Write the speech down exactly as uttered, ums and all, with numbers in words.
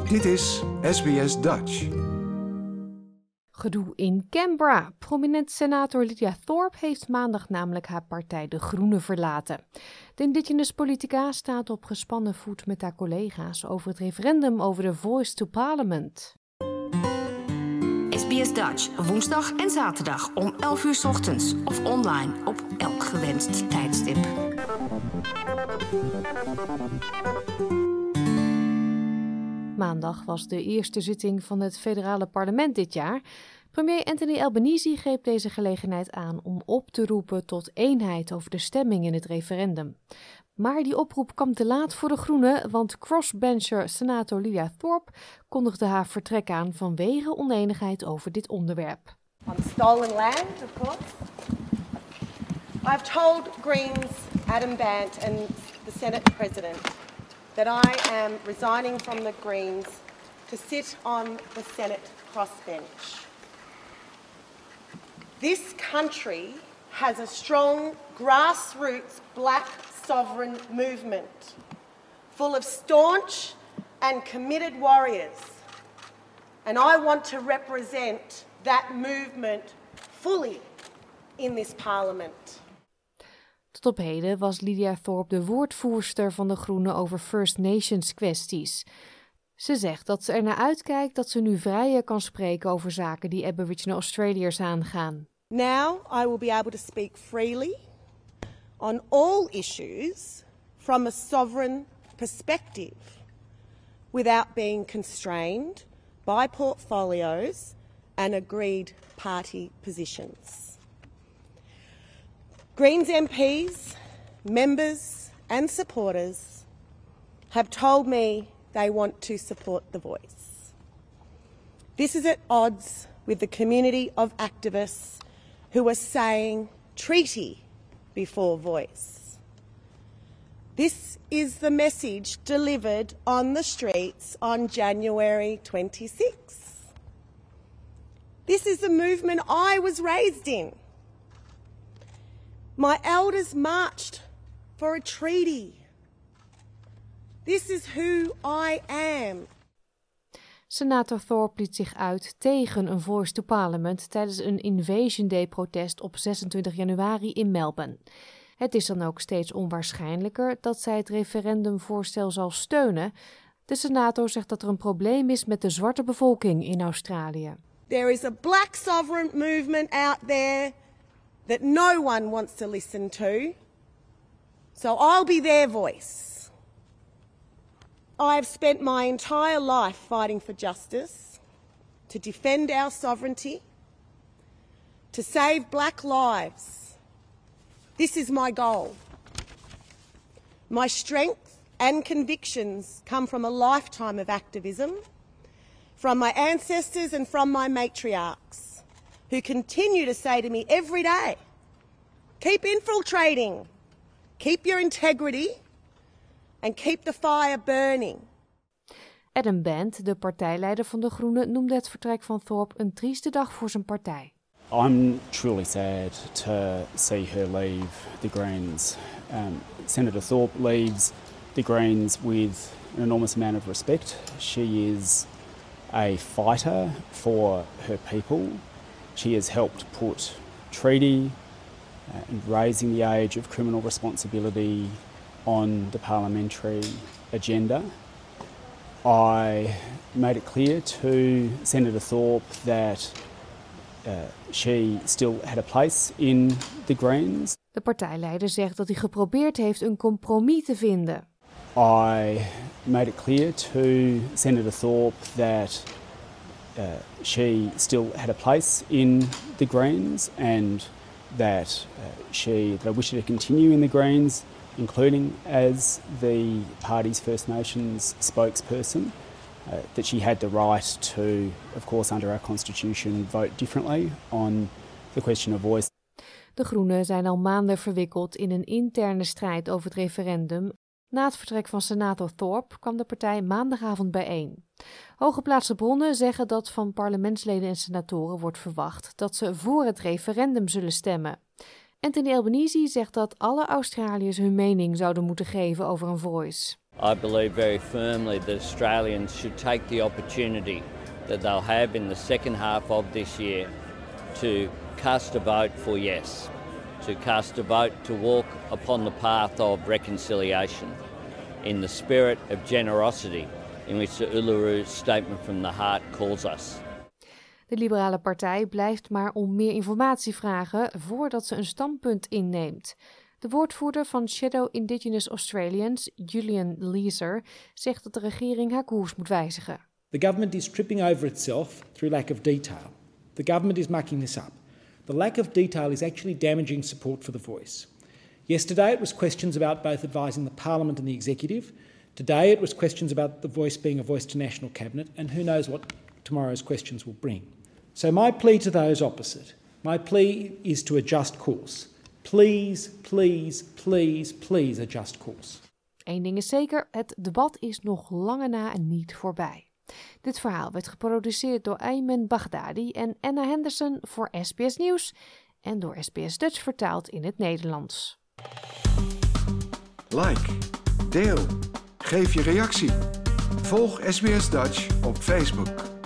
Dit is S B S Dutch. Gedoe in Canberra. Prominent senator Lydia Thorpe heeft maandag namelijk haar partij De Groenen verlaten. De Indigenous politica staat op gespannen voet met haar collega's over het referendum over de Voice to Parliament. S B S Dutch, woensdag en zaterdag om elf uur 's ochtends of online op elk gewenst tijdstip. Maandag was de eerste zitting van het federale parlement dit jaar. Premier Anthony Albanese greep deze gelegenheid aan om op te roepen tot eenheid over de stemming in het referendum. Maar die oproep kwam te laat voor de Groenen, want crossbencher senator Lydia Thorpe kondigde haar vertrek aan vanwege oneenigheid over dit onderwerp. On stolen land, of course. I've told Greens Adam Bandt and the Senate President that I am resigning from the Greens to sit on the Senate crossbench. This country has a strong grassroots black sovereign movement full of staunch and committed warriors. And I want to represent that movement fully in this parliament. Tot op heden was Lydia Thorpe de woordvoerster van de Groenen over First Nations kwesties. Ze zegt dat ze er naar uitkijkt dat ze nu vrijer kan spreken over zaken die Aboriginal Australiërs aangaan. Now I will be able to speak freely on all issues from a sovereign perspective without being constrained by portfolios and agreed party positions. Greens M Ps, members and supporters have told me they want to support the Voice. This is at odds with the community of activists who are saying treaty before Voice. This is the message delivered on the streets on January twenty-sixth. This is the movement I was raised in. My elders marched for a treaty. This is who I am. Senator Thorpe liet zich uit tegen een Voice to Parliament tijdens een Invasion Day protest op zesentwintig januari in Melbourne. Het is dan ook steeds onwaarschijnlijker dat zij het referendumvoorstel zal steunen. De senator zegt dat er een probleem is met de zwarte bevolking in Australië. There is a black sovereign movement out there that no one wants to listen to. So I'll be their voice. I have spent my entire life fighting for justice, to defend our sovereignty, to save black lives. This is my goal. My strength and convictions come from a lifetime of activism, from my ancestors and from my matriarchs, who continue to say to me every day, keep infiltrating, keep your integrity, and keep the fire burning. Adam Bandt, de partijleider van de Groenen, noemde het vertrek van Thorpe een trieste dag voor zijn partij. I'm truly sad to see her leave the Greens. Um, Senator Thorpe leaves the Greens with an enormous amount of respect. She is a fighter for her people. She has helped put treaty uh, and raising the age of criminal responsibility on the parliamentary agenda. I made it clear to Senator Thorpe that uh, she still had a place in the Greens. De partijleider zegt dat hij geprobeerd heeft een compromis te vinden. I made it clear to Senator Thorpe that uh, she still had a place in the Greens and that uh, she that I wish her to continue in the Greens, including as the party's First Nations spokesperson, uh, that she had the right to, of course, under our constitution, vote differently on the question of voice. De Groenen zijn al maanden verwikkeld in een interne strijd over het referendum. Na het vertrek van senator Thorpe kwam de partij maandagavond bijeen. Hooggeplaatste bronnen zeggen dat van parlementsleden en senatoren wordt verwacht dat ze voor het referendum zullen stemmen. Anthony Albanese zegt dat alle Australiërs hun mening zouden moeten geven over een Voice. I believe very firmly that Australians should take the opportunity that they'll have in the second half of this year to cast a vote for yes, to cast a vote to walk upon the path of reconciliation in the spirit of generosity in which the Uluru Statement from the Heart calls us. De Liberale Partij blijft maar om meer informatie vragen voordat ze een standpunt inneemt. De woordvoerder van Shadow Indigenous Australians, Julian Leeser, zegt dat de regering haar koers moet wijzigen. The government is tripping over itself through lack of detail. The government is mucking this up. The lack of detail is actually damaging support for the voice. Yesterday it was questions about both advising the Parliament and the Executive. Today it was questions about the voice being a voice to National Cabinet, and who knows what tomorrow's questions will bring. So my plea to those opposite, my plea is to adjust course. Please, please, please, please adjust course. Eén ding is zeker, het debat is nog lange na niet voorbij. Dit verhaal werd geproduceerd door Ayman Baghdadi en Anna Henderson voor S B S Nieuws en door S B S Dutch vertaald in het Nederlands. Like, deel, geef je reactie. Volg S B S Dutch op Facebook.